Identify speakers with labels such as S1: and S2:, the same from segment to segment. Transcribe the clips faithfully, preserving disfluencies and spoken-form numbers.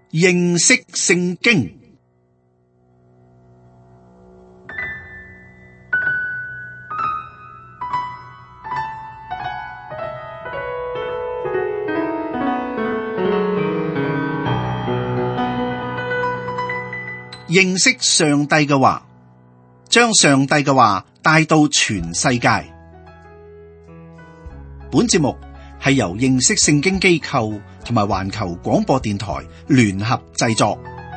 S1: 認識聖經。認識上帝嘅話，將上帝嘅話帶到全世界。本節目係由認識聖經機構同埋環球廣播電台聯合製作。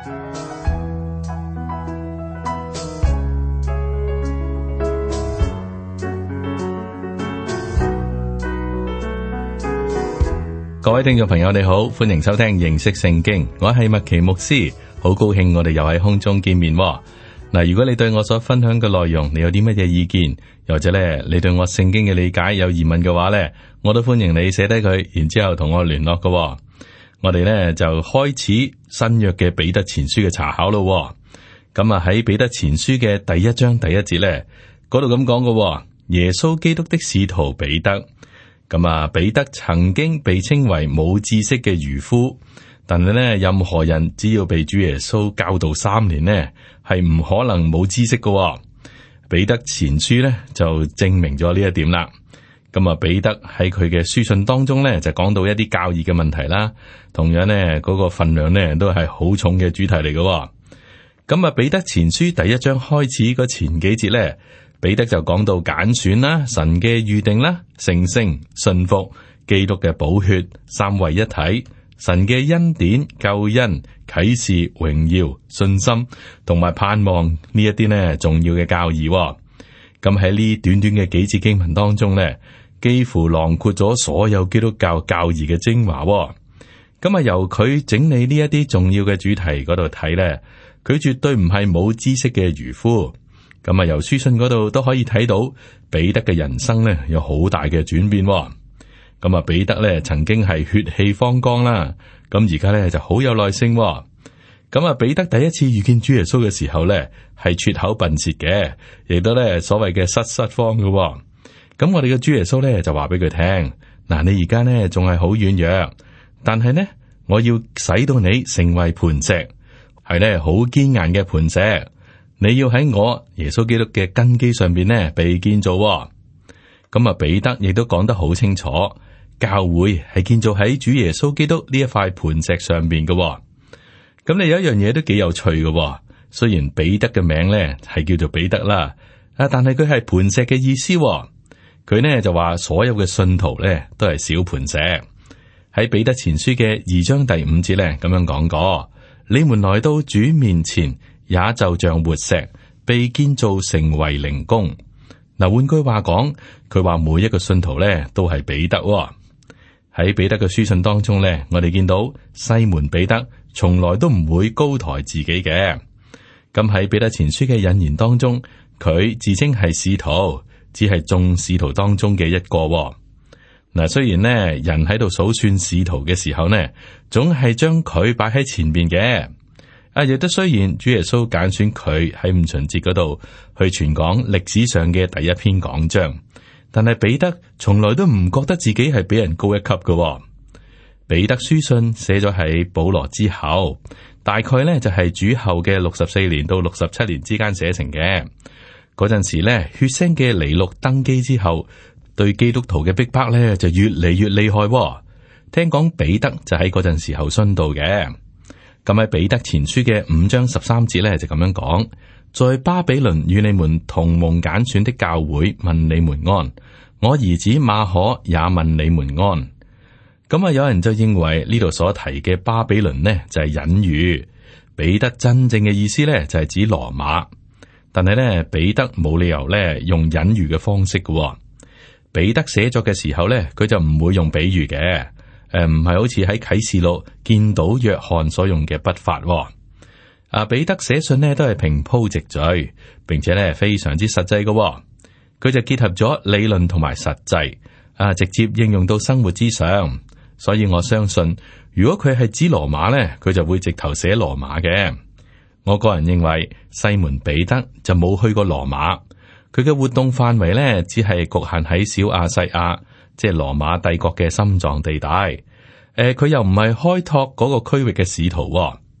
S2: 各位聽眾朋友，你好，歡迎收聽認識聖經，我係麥奇牧師。好高興我哋又喺空中見面喎。嗱，如果你對我所分享嘅內容，你有啲乜嘢意見，又或者咧你對我聖經嘅理解有疑問嘅話咧，我都歡迎你寫低佢，然之後同我聯絡嘅喎。我哋咧就開始新約嘅彼得前書嘅查考咯。咁啊喺彼得前書嘅第一章第一節咧，嗰度咁講嘅，耶穌基督的使徒彼得。咁啊，彼得曾經被稱為冇知識嘅漁夫。但係咧，任何人只要被主耶穌教導三年呢，係唔可能冇知識嘅。彼得前書咧就證明咗呢一點啦。咁啊，彼得喺佢嘅書信當中咧就講到一啲教義嘅問題啦。同樣呢，嗰個分量呢都係好重嘅主題嚟嘅。咁啊，彼得前書第一章開始嗰前幾節咧，彼得就講到揀選啦、神嘅預定啦、成聖、信服、基督嘅寶血、三位一體。神嘅恩典、救恩、啟示、榮耀、信心同埋盼望呢一啲呢重要嘅教義。咁喺呢短短嘅幾節經文當中呢，幾乎囊括咗所有基督教教義嘅精華。咁啊，由佢整理呢一啲重要嘅主題嗰度睇呢，佢絕對唔係冇知識嘅漁夫。咁啊，由書信嗰度都可以睇到彼得嘅人生呢有好大嘅轉變。咁啊，彼得咧曾經係血氣方剛啦，咁而家咧就好有耐性。咁啊，彼得第一次遇見主耶穌嘅時候咧，係拙口笨舌嘅，亦都咧所謂嘅失失慌嘅。咁我哋嘅主耶穌咧就話俾佢聽：嗱，你而家咧仲係好軟弱，但係呢，我要使到你成為磐石，係咧好堅硬嘅磐石。你要喺我耶穌基督嘅根基上邊呢被建造。咁啊，彼得亦都講得好清楚。教會係建造喺主耶穌基督呢一塊磐石上邊嘅。咁你有一樣嘢都幾有趣嘅。雖然彼得嘅名咧係叫做彼得啦，啊，但係佢係磐石嘅意思。佢呢就話所有嘅信徒咧都係小磐石。喺彼得前書嘅二章第五節咧咁樣講過：你們來到主面前，也就像活石，被建造成為靈宮。嗱，換句話講，佢話每一個信徒咧都係彼得。喺彼得嘅書信當中咧，我哋見到西門彼得從來都唔會高抬自己嘅。咁喺彼得前書嘅引言當中，佢自稱係使徒，只係眾使徒當中嘅一個。嗱，雖然呢人喺度數算使徒嘅時候呢，總係將佢擺喺前邊嘅。啊，亦都雖然主耶穌揀選佢喺五旬節嗰度去傳講歷史上嘅第一篇講章。但係彼得從來都唔覺得自己係比人高一級嘅。彼得書信寫咗喺保羅之後，大概咧就係主後嘅六十四年到六十七年之間寫成嘅。嗰陣時咧，血腥嘅尼祿登基之後，對基督徒嘅逼迫咧就越嚟越厲害。聽講彼得就喺嗰陣時候殉道嘅。咁喺彼得前書嘅五章十三節咧就咁樣講。在巴比倫與你們同蒙揀選的教會問你們安，我兒子馬可也問你們安。咁啊，有人就認為呢度所提嘅巴比倫呢就係隱喻，彼得真正嘅意思呢就係指羅馬。但係呢，彼得冇理由呢用隱喻嘅方式嘅。彼得寫作嘅時候呢，佢就唔會用比喻嘅，誒唔係好似喺啟示錄見到約翰所用嘅筆法。啊，彼得寫信呢都係平鋪直敘，並且呢非常之實際嘅。佢就結合咗理論同埋實際，啊，直接應用到生活之上。所以我相信，如果佢係指羅馬呢，佢就會直頭寫羅馬嘅。我個人認為西門彼得就冇去過羅馬，佢嘅活動範圍呢只係局限喺小亞細亞，即係羅馬帝國嘅心臟地帶。誒、呃，佢又唔係開拓嗰個區域嘅使徒、哦。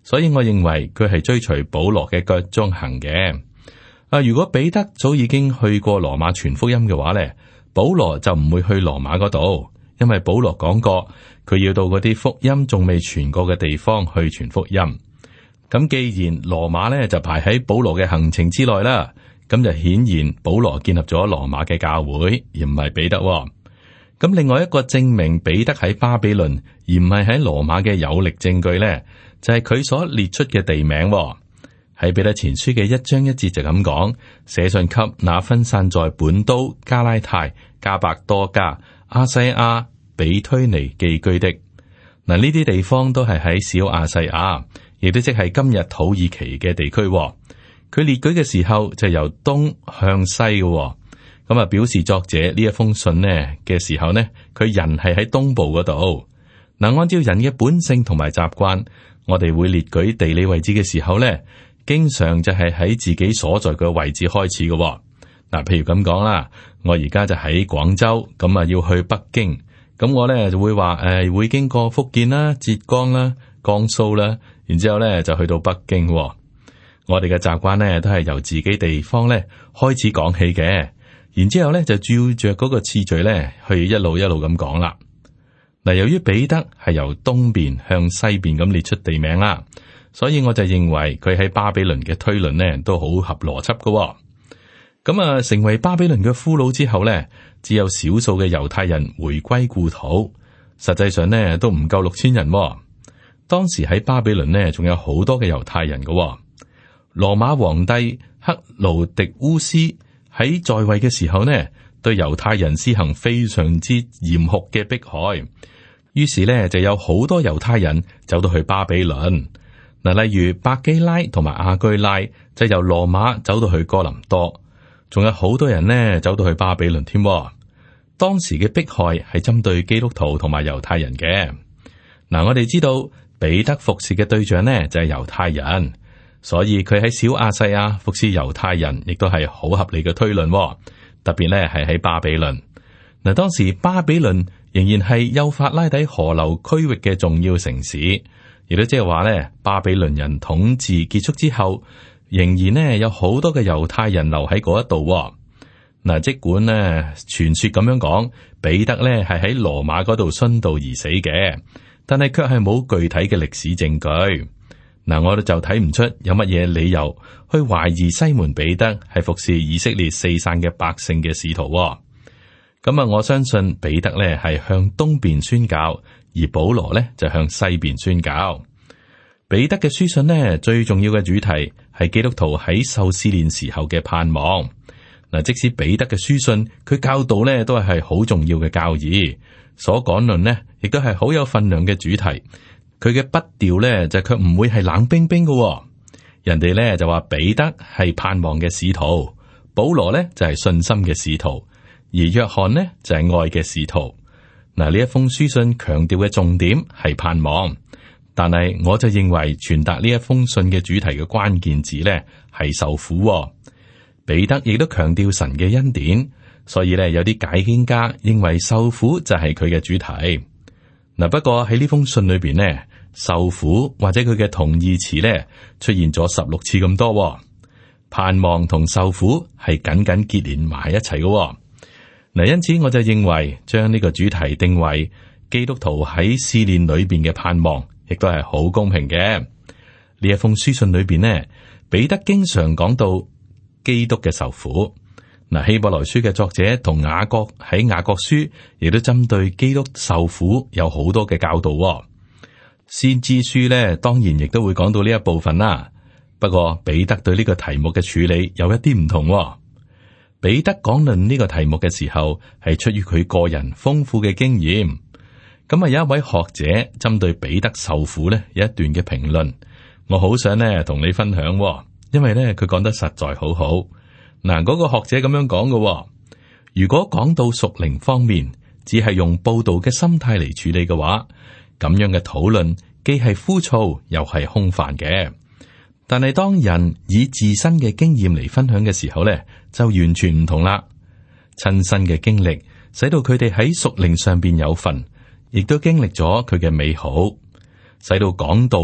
S2: 所以我認為佢係追隨保羅嘅腳蹤行嘅。啊，如果彼得早已經去過羅馬傳福音嘅話咧，保羅就唔會去羅馬嗰度，因為保羅講過佢要到嗰啲福音仲未傳過嘅地方去傳福音。咁既然羅馬咧就排喺保羅嘅行程之內啦，咁就顯然保羅建立咗羅馬嘅教會，而唔係彼得。咁另外一個證明彼得喺巴比倫而唔係喺羅馬嘅有力證據咧，就係佢所列出嘅地名。喺彼得前書嘅一章一節就咁講，寫信給那分散在本都、加拉太、加百多家、亞細亞、比推尼寄居的。嗱，呢啲地方都係喺小亞細亞，亦都即係今日土耳其嘅地區。佢列舉嘅時候就由東向西嘅，咁啊表示作者呢一封信呢嘅時候呢，佢人係喺東部嗰度。嗱，按照人嘅本性同埋習慣，我哋會列舉地理位置嘅時候呢，經常就係喺自己所在嘅位置開始嘅。嗱，譬如咁講啦，我而家就喺廣州，咁啊要去北京，咁我咧就會話誒、呃、會經過福建啦、浙江啦、江蘇啦，然之後咧就去到北京。我哋嘅習慣咧都係由自己地方咧開始講起嘅，然之後咧就照着嗰個次序咧去一路一路咁講啦。嗱，由於彼得係由東邊向西邊咁列出地名啦，所以我就認為佢喺巴比倫嘅推論呢都好合邏輯㗎。咁啊，成為巴比倫嘅俘虜之後呢，只有少數嘅猶太人回歸故土，實際上呢都唔夠六千人。當時喺巴比倫呢仲有好多嘅猶太人㗎。羅馬皇帝克勞狄烏斯喺在位嘅時候呢，對猶太人施行非常之嚴酷嘅迫害，於是呢就有好多猶太人走到去巴比倫。嗱，例如百基拉同埋亞居拉就由羅馬走到去哥林多，仲有好多人呢走到去巴比倫添。當時嘅迫害係針對基督徒同埋猶太人嘅。嗱，我哋知道彼得服侍嘅對象呢就係猶太人，所以佢喺小亞細亞服侍猶太人，亦都係好合理嘅推論。特別呢係喺巴比倫。嗱，當時巴比倫仍然係幼發拉底河流區域嘅重要城市，亦都即係話咧，巴比倫人統治結束之後，仍然呢有好多嘅猶太人留喺嗰一度。嗱，即管呢傳說咁樣講，彼得咧係喺羅馬嗰度殉道而死嘅，但係卻係冇具體嘅歷史證據。嗱，我哋就睇唔出有乜嘢理由去懷疑西門彼得係服侍以色列四散嘅百姓嘅使徒。咁啊，我相信彼得咧係向東邊宣教，而保羅咧就向西邊宣教。彼得嘅書信呢，最重要嘅主題係基督徒喺受試煉時候嘅盼望。嗱，即使彼得嘅書信，佢教導咧都係好重要嘅教義，所講論呢亦都係好有分量嘅主題。佢嘅筆調咧就卻唔會係冷冰冰嘅。人哋咧就話彼得係盼望嘅使徒，保羅咧就係信心嘅使徒，而約翰呢就係愛嘅使徒。嗱，呢一封書信強調嘅重點係盼望，但係我就認為傳達呢一封信嘅主題嘅關鍵字咧係受苦。彼得亦都強調神嘅恩典，所以咧有啲解經家認為受苦就係佢嘅主題。嗱，不過喺呢封信裏邊呢，受苦或者佢嘅同義詞咧出現咗十六次咁多。盼望同受苦係緊緊結連埋一齊嘅。嗱，因此我就認為將呢個主題定為基督徒喺試煉裏邊嘅盼望，亦都係好公平嘅。呢一封書信裏邊呢，彼得經常講到基督嘅受苦。嗱，希伯來書嘅作者同雅各喺雅各書亦都針對基督受苦有好多嘅教導。先知書咧，當然亦都會講到呢一部分啦。不過彼得對呢個題目嘅處理有一啲唔同。彼得講論呢個題目嘅時候，係出於佢個人豐富嘅經驗。咁啊，有一位學者針對彼得受苦呢有一段嘅評論，我好想呢同你分享，因為呢佢講得實在好好。嗱，嗰個學者咁樣講嘅，如果講到屬靈方面，只係用報道嘅心態嚟處理嘅話，咁樣嘅討論既係枯燥又係空泛嘅。但係當人以自身嘅經驗嚟分享嘅時候咧，就完全唔同啦。親身嘅經歷使到佢哋喺屬靈上邊有份，亦都經歷咗佢嘅美好，使到講道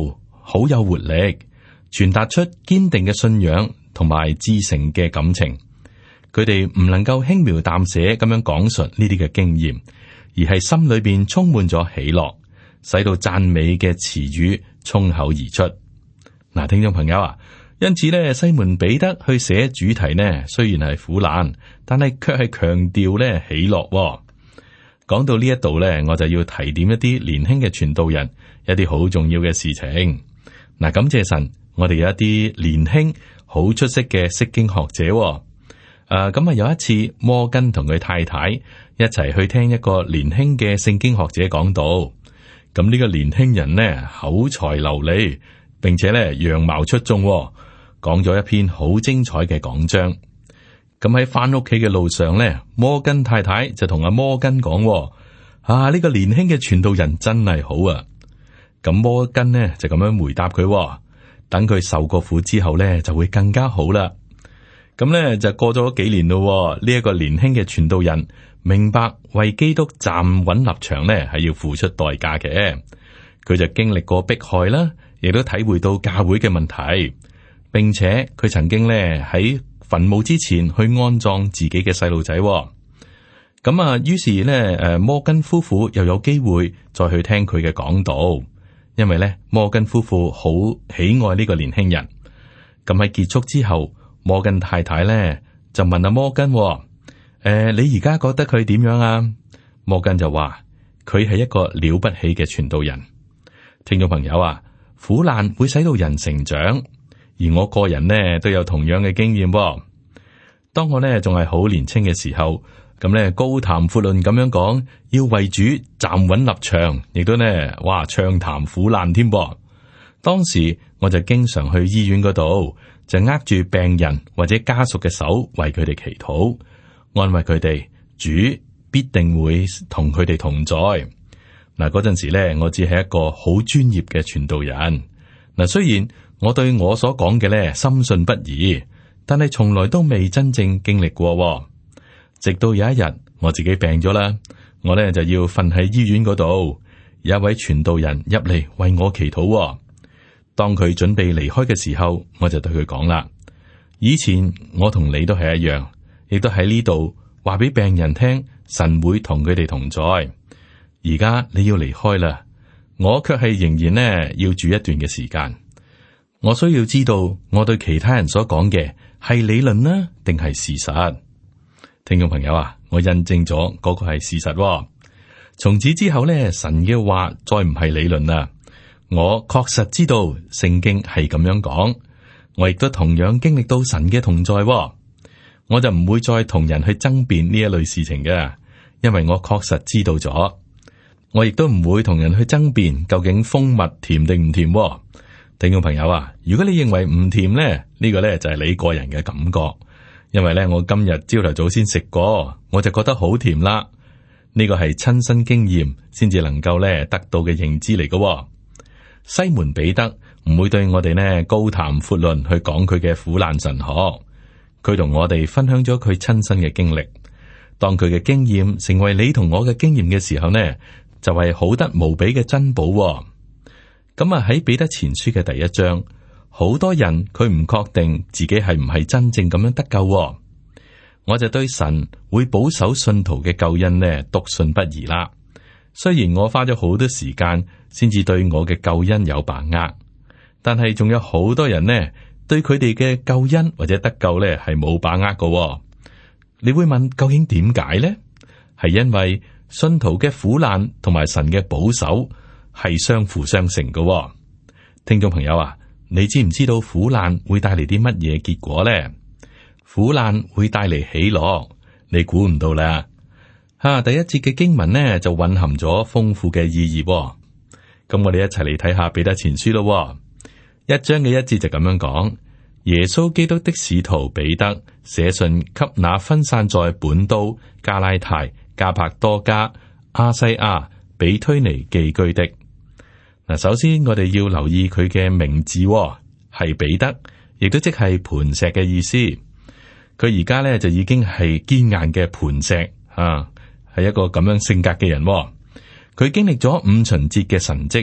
S2: 好有活力，傳達出堅定嘅信仰同埋至誠嘅感情。佢哋唔能夠輕描淡寫咁樣講述呢啲嘅經驗，而係心裏邊充滿咗喜樂，使到讚美嘅詞語衝口而出。嗱，聽眾朋友啊，因此咧，西門彼得去寫主題呢，雖然係苦難，但係卻係強調咧喜樂喎。講到呢一度咧，我就要提點一啲年輕嘅傳道人一啲好重要嘅事情。嗱，感謝神，我哋有一啲年輕好出色嘅釋經學者喎。誒，咁啊有一次摩根同佢太太一齊去聽一個年輕嘅聖經學者講道。咁呢個年輕人呢，口才流利，並且咧樣貌出眾喎，講咗一篇好精彩嘅講章。咁喺翻屋企嘅路上咧，摩根太太就同阿摩根講：啊，呢個年輕嘅傳道人真係好啊！咁摩根呢就咁樣回答佢：等佢受過苦之後咧，就會更加好啦。咁咧就過咗幾年咯，呢一個年輕嘅傳道人明白為基督站穩立場咧係要付出代價嘅。佢就經歷過迫害啦，亦都體會到教會嘅問題，並且佢曾經咧喺墳墓之前去安葬自己嘅細路仔。咁啊，於是咧誒摩根夫婦又有機會再去聽佢嘅講道，因為咧摩根夫婦好喜愛呢個年輕人。咁喺結束之後，摩根太太咧就問阿摩根：誒、呃，你而家覺得佢點樣啊？摩根就話：佢係一個了不起嘅傳道人。聽眾朋友啊，苦難會使到人成長，而我個人呢都有同樣嘅經驗喎。當我呢仲係好年輕嘅時候，咁呢高談闊論咁樣講，要為主站穩立場，亦都呢哇暢談苦難添噃。當時我就經常去醫院嗰度，就握住病人或者家屬嘅手，為佢哋祈禱，安慰佢哋，主必定會同佢哋同在。嗱，嗰陣時咧，我只係一個好專業嘅傳道人。嗱，雖然我對我所講嘅咧深信不疑，但係從來都未真正經歷過。直到有一日我自己病咗啦，我咧就要瞓喺醫院嗰度，有一位傳道人入嚟為我祈禱。當佢準備離開嘅時候，我就對佢講啦：以前我同你都係一樣，亦都喺呢度話俾病人聽，神會同佢哋同在。而家你要離開啦，我卻係仍然呢要住一段嘅時間。我需要知道我對其他人所講嘅係理論呢，定係事實？聽眾朋友啊，我印證咗嗰個係事實。從此之後呢，神嘅話再唔係理論啦。我確實知道聖經係咁樣講，我亦都同樣經歷到神嘅同在。我就唔會再同人去爭辯呢一類事情嘅，因為我確實知道咗。我亦都唔會同人去爭辯究竟蜂蜜甜定唔甜。聽眾朋友啊，如果你認為唔甜咧，呢個咧就係你個人嘅感覺，因為咧我今日朝頭早先食過，我就覺得好甜啦。呢個係親身經驗先至能夠咧得到嘅認知嚟嘅。西門彼得唔會對我哋呢高談闊論去講佢嘅苦難神學，佢同我哋分享咗佢親身嘅經歷。當佢嘅經驗成為你同我嘅經驗嘅時候呢，就係好得無比嘅珍寶。咁啊喺彼得前書嘅第一章，好多人佢唔確定自己係唔係真正咁樣得救。我就對神會保守信徒嘅救恩呢篤信不疑啦。雖然我花咗好多時間先至對我嘅救恩有把握，但係仲有好多人呢對佢哋嘅救恩或者得救呢係冇把握㗎。你會問究竟點解呢？係因為信徒嘅苦難同埋神嘅保守係相輔相成㗎。聽眾朋友啊，你知唔知道苦難會帶嚟啲乜嘢結果呢？苦難會帶嚟喜樂，你估唔到啦。吓、啊，第一節嘅經文呢就蘊含咗豐富嘅意義。咁我哋一齊嚟睇下彼得前書咯。一章嘅一節就咁樣講：耶穌基督的使徒彼得寫信給那分散在本都、加拉太、加帕多家、亞西亞、比推尼寄居的。嗱，首先我哋要留意佢嘅名字，係彼得，亦都即係磐石嘅意思。佢而家咧就已經係堅硬嘅磐石啊，係一個咁樣性格嘅人。佢經歷咗五旬節嘅神蹟，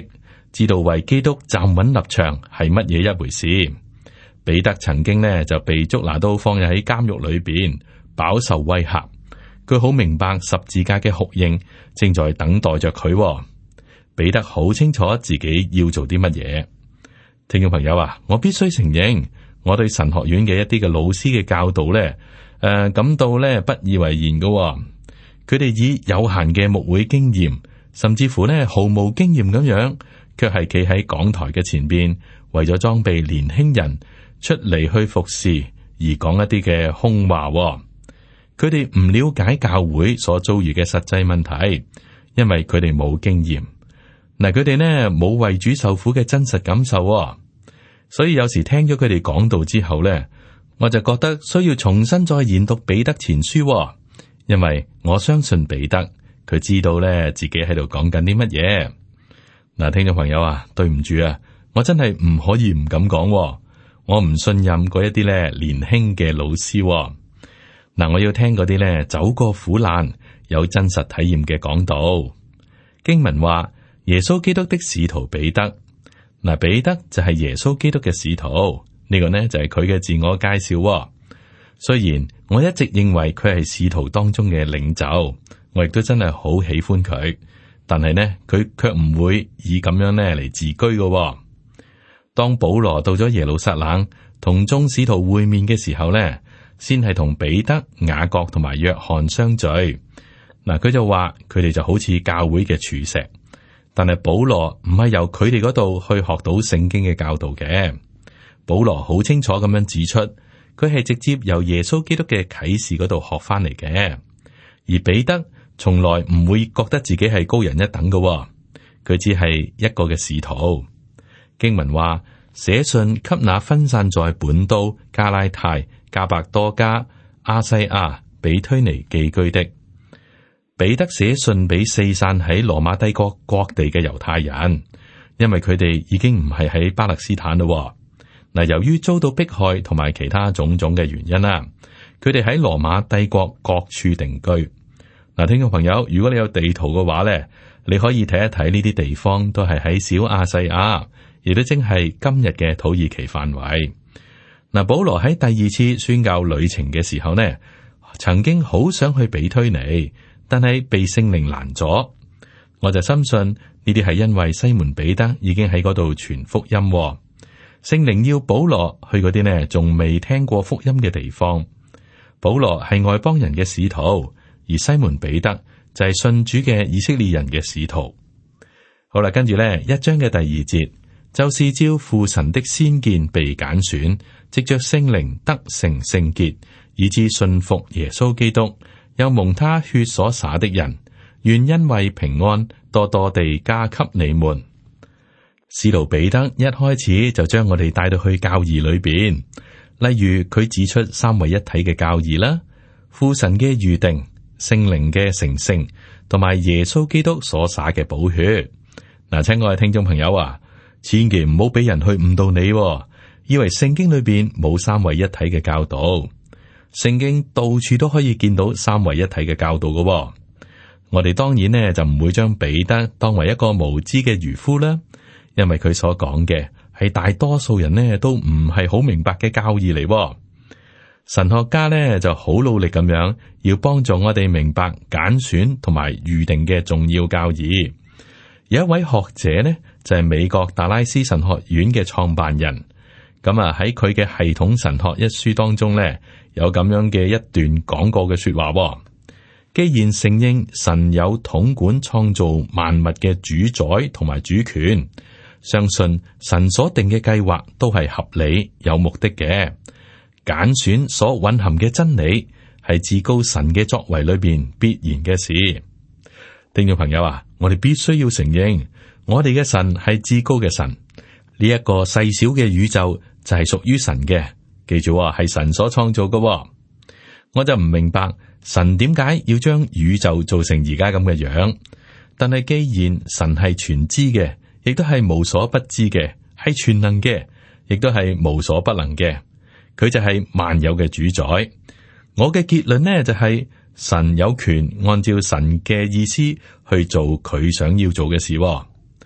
S2: 知道為基督站穩立場係乜嘢一回事。彼得曾經呢就被捉拿到放入喺監獄裏邊，飽受威嚇。佢好明白十字架嘅酷刑正在等待着佢。彼得好清楚自己要做啲乜嘢。聽眾朋友啊，我必須承認，我對神學院嘅一啲嘅老師嘅教導呢，誒、呃、感到呢不以為然嘅。佢哋以有限嘅牧會經驗，甚至乎呢毫無經驗咁樣，卻係企喺講台嘅前邊，為咗裝備年輕人出嚟去服侍而講一啲嘅空話。佢哋唔了解教會所遭遇嘅實際問題，因為佢哋冇經驗。嗱，佢哋呢冇為主受苦嘅真實感受，所以有時聽咗佢哋講道之後呢，我就覺得需要重新再研讀彼得前書，因為我相信彼得佢知道呢自己喺度講緊啲乜嘢。嗱，聽眾朋友啊，對唔住啊，我真係唔可以唔咁講，我唔信任嗰一啲咧年輕嘅老師。嗱，我要聽嗰啲咧走過苦難、有真實體驗嘅講道。經文話耶穌基督的使徒彼得，嗱，彼得就係耶穌基督嘅使徒，呢個呢就係佢嘅自我介紹。雖然我一直認為佢係使徒當中嘅領袖，我亦都真係好喜歡佢，但係呢佢卻唔會以咁樣呢嚟自居嘅。當保羅到咗耶路撒冷同眾使徒會面嘅時候呢，先係同彼得、雅各同埋約翰相聚。嗱，佢就話佢哋就好似教會嘅柱石，但係保羅唔係由佢哋嗰度去學到聖經嘅教導嘅。保羅好清楚咁樣指出，佢係直接由耶穌基督嘅啟示嗰度學翻嚟嘅。而彼得從來唔會覺得自己係高人一等嘅，佢只係一個嘅使徒。經文話寫信給那分散在本都、加拉太、加百多家、亞細亞、比推尼寄居的。彼得寫信俾四散喺羅馬帝國各地嘅猶太人，因為佢哋已經唔係喺巴勒斯坦咯。嗱，由於遭到迫害同埋其他種種嘅原因啦，佢哋喺羅馬帝國各處定居。嗱，聽眾朋友，如果你有地圖嘅話咧，你可以睇一睇呢啲地方都係喺小亞細亞，亦都正係今日嘅土耳其範圍。嗱，保羅喺第二次宣教旅程嘅時候呢，曾經好想去比推尼，但係被聖靈攔咗。我就深信呢啲係因為西門彼得已經喺嗰度傳福音，聖靈要保羅去嗰啲呢仲未聽過福音嘅地方。保羅係外邦人嘅使徒，而西門彼得就係信主嘅以色列人嘅使徒。好啦，跟住呢一章嘅第二節，就是照父神的先見被揀選，藉着聖靈得成聖潔，以致信服耶穌基督，又蒙他血所灑的人，願恩惠平安多多地加給你們。使徒彼得一開始就將我哋帶到去教義裏邊，例如佢指出三位一體嘅教義啦，父神嘅預定、聖靈嘅成聖，同埋耶穌基督所灑嘅寶血。嗱，親愛嘅聽眾朋友啊，千祈唔好俾人去誤導你，以為聖經裏邊冇三位一體嘅教導。聖經到處都可以見到三位一體嘅教導嘅。我哋當然呢就唔會將彼得當為一個無知嘅漁夫啦，因為佢所講嘅係大多數人呢都唔係好明白嘅教義嚟。神學家呢就好努力咁樣要幫助我哋明白揀選同埋預定嘅重要教義。有一位學者呢就係美國達拉斯神學院嘅創辦人，咁啊喺佢嘅系統神學一書當中呢，有咁樣嘅一段講過嘅說話。既然承認神有統管創造萬物嘅主宰同埋主權，相信神所定嘅計劃都係合理有目的嘅。揀選所蘊含嘅真理係至高神嘅作為裏邊必然嘅事。聽眾朋友啊，我哋必須要承認，我哋嘅神係至高嘅神。呢、這、一個細小嘅宇宙就係屬於神嘅，記住啊，係神所創造嘅。我就唔明白神點解要將宇宙做成而家咁嘅樣。但係既然神係全知嘅，亦都係無所不知嘅，係全能嘅，亦都係無所不能嘅，佢就係萬有嘅主宰。我嘅結論呢就係、是、神有權按照神嘅意思去做佢想要做嘅事。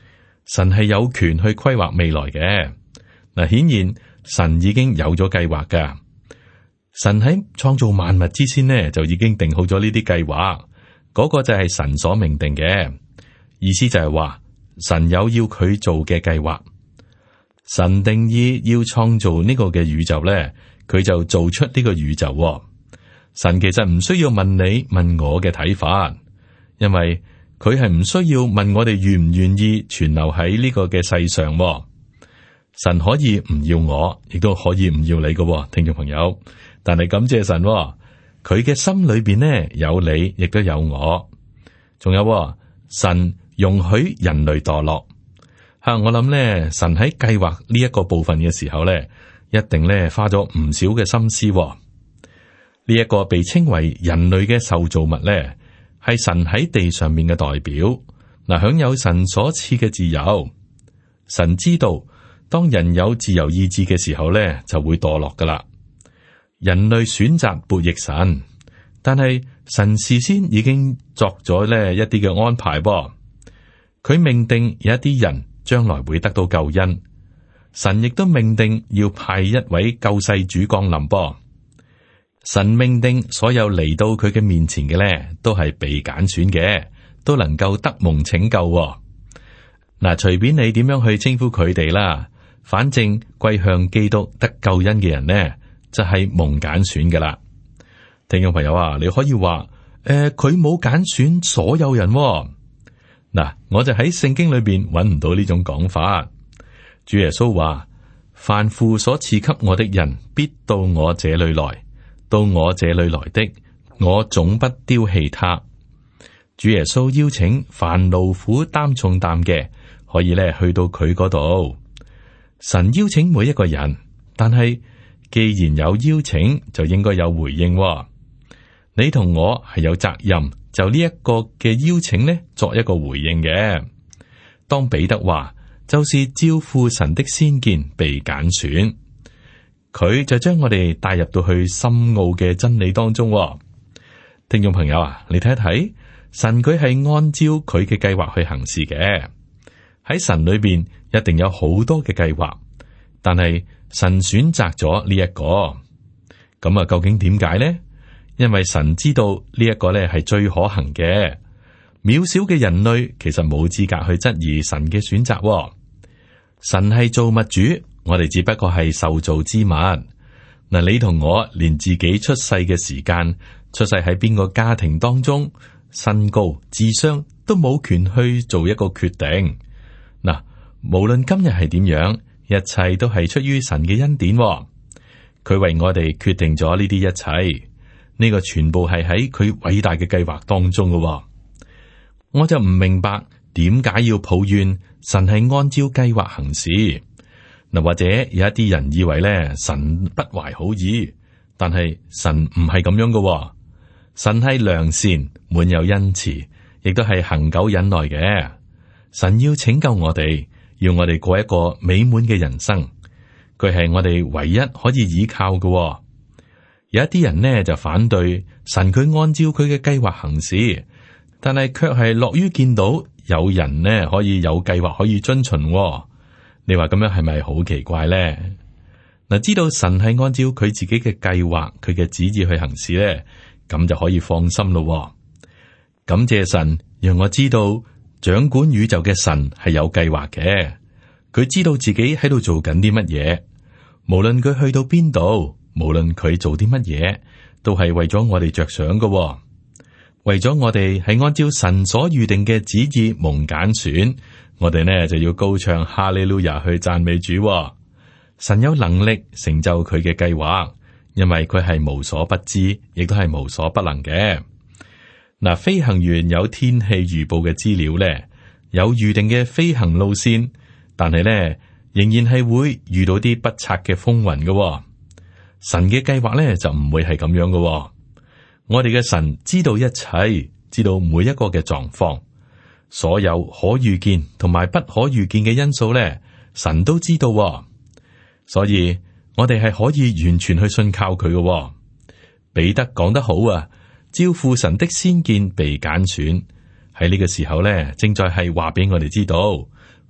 S2: 神係有權去規劃未來嘅。嗱，顯然神已經有咗計劃噶。神喺創造萬物之先呢，就已經定好咗呢啲計劃，嗰個就係神所命定嘅。意思就係話，神有要佢做嘅計劃。神定義要創造呢個嘅宇宙咧，佢就做出呢個宇宙喎。神其實唔需要問你問我嘅睇法，因為佢係唔需要問我哋願唔願意存留喺呢個嘅世上喎。神可以唔要我，亦都可以唔要你嘅喎，聽眾朋友。但係感謝神喎，佢嘅心裏邊呢，有你，亦都有我。仲有喎，神容許人類墮落。吓，我諗咧，神喺計劃呢一個部分嘅時候咧，一定咧花咗唔少嘅心思喎。呢一個被稱為人類嘅受造物咧，係神喺地上面嘅代表，嗱，享有神所賜嘅自由。神知道，當人有自由意志嘅時候咧，就會墮落噶啦。人類選擇悖逆神，但係神事先已經作咗咧一啲嘅安排噃。佢命定有一啲人將來會得到救恩，神亦都命定要派一位救世主降臨噃。神命定所有嚟到佢嘅面前嘅咧，都係被揀選嘅，都能夠得蒙拯救喎。嗱，隨便你點樣去稱呼佢哋啦，反正歸向基督得救恩嘅人呢，就係蒙揀選噶啦。聽眾朋友啊，你可以話誒，佢冇揀選所有人喎。嗱，我就喺聖經裏邊揾唔到呢種講法。主耶穌話：凡父所賜給我的人，必到我這裏來；到我這裏來的，我總不丟棄他。主耶穌邀請凡勞苦擔重擔嘅，可以咧去到佢嗰度。神邀請每一個人，但係既然有邀請，就應該有回應喎。你同我係有責任，就呢一個嘅邀請呢，作一個回應嘅。當彼得話，就是照父神的先見被揀選，佢就將我哋帶入到去深奧嘅真理當中喎。聽眾朋友啊，你睇一睇，神佢係按照佢嘅計劃去行事嘅。喺神裏邊一定有好多嘅計劃，但係神選擇咗呢一個，咁啊，究竟點解呢？因為神知道呢一個咧係最可行嘅。渺小嘅人類其實冇資格去質疑神嘅選擇喎。神係造物主，我哋只不過係受造之物。嗱，你同我連自己出世嘅時間、出世喺邊個家庭當中、身高、智商都冇權去做一個決定。嗱，無論今日係點樣，一切都係出於神嘅恩典喎。佢為我哋決定咗呢啲一切。呢個全部係喺佢偉大嘅計劃當中嘅喎。我就唔明白點解要抱怨神係按照計劃行事。嗱，或者有一啲人以為咧，神不懷好意，但係神唔係咁樣嘅喎。神係良善，滿有恩慈，亦都係恆久忍耐嘅。神要拯救我哋，要我哋過一個美滿嘅人生。佢係我哋唯一可以依靠嘅喎。有一啲人呢就反對神，佢按照佢嘅計劃行事，但係卻係樂於見到有人呢可以有計劃可以遵循喎。你話咁樣係咪好奇怪呢？嗱，知道神係按照佢自己嘅計劃、佢嘅旨意去行事呢，咁就可以放心咯喎。感謝神，讓我知道掌管宇宙嘅神係有計劃嘅，佢知道自己喺度做緊啲乜嘢，無論佢去到邊度。無論佢做啲乜嘢，都係為咗我哋着想嘅喎，為咗我哋係按照神所預定嘅旨意蒙揀選，我哋呢就要高唱哈利路亞去讚美主喎。神有能力成就佢嘅計劃，因為佢係無所不知，亦都係無所不能嘅。嗱，飛行員有天氣預報嘅資料呢，有預定嘅飛行路線，但係呢仍然係會遇到啲不測嘅風雲嘅喎。神嘅計劃咧就唔會係咁樣嘅喎。我哋嘅神知道一切，知道每一個嘅狀況，所有可預見同埋不可預見嘅因素咧，神都知道喎。所以我哋係可以完全去信靠佢嘅喎。彼得講得好啊，照父神的先見被揀選，喺呢個時候咧，正在係話俾我哋知道，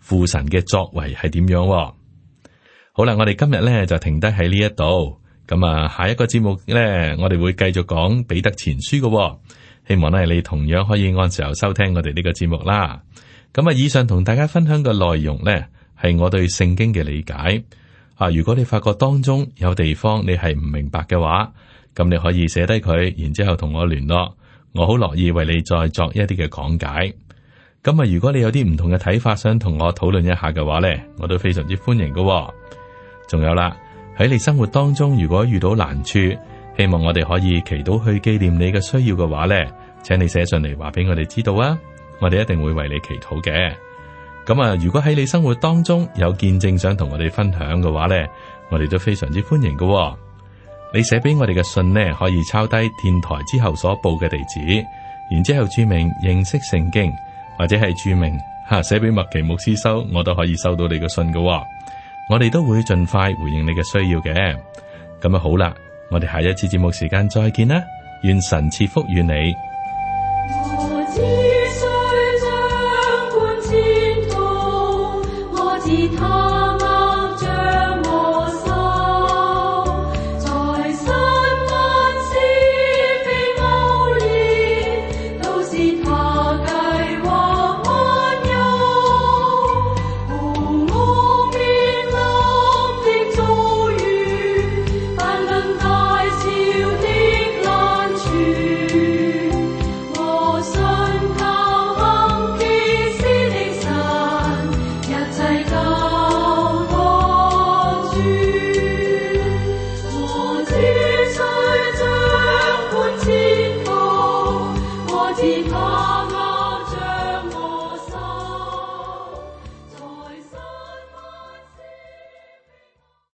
S2: 父神嘅作為係點樣。好啦，我哋今日咧就停低喺呢一度。咁啊，下一個節目咧，我哋會繼續講彼得前書嘅。希望咧你同樣可以按時候收聽我哋呢個節目啦。咁啊，以上同大家分享嘅內容咧，係我對聖經嘅理解。啊，如果你發覺當中有地方你係唔明白嘅話，咁你可以寫低佢，然之後同我聯絡，我好樂意為你再作一啲嘅講解。咁啊，如果你有啲唔同嘅睇法，想同我討論一下嘅話咧，我都非常之歡迎嘅。仲有啦，喺你生活當中，如果遇到難處，希望我哋可以祈禱去紀念你嘅需要嘅話咧，請你寫上嚟話俾我哋知道啊，我哋一定會為你祈禱嘅。咁啊，如果喺你生活當中有見證想同我哋分享嘅話咧，我哋都非常之歡迎嘅。你寫俾我哋嘅信呢，可以抄低電台之後所報嘅地址，然之後注明認識聖經，或者係注明吓寫俾麥奇牧師收，我都可以收到你嘅信嘅。我哋都會盡快回應你嘅需要嘅。咁啊好啦，我哋下一次節目時間再見啦，願神賜福與你。
S3: 我只需掌管前途，我自他握着我手，在山間是非謬言，都是他計劃安佑。我面臨的遭遇，不論大小的難處，我信靠行奇事的神，一切交託主。我只需掌管前途，我自他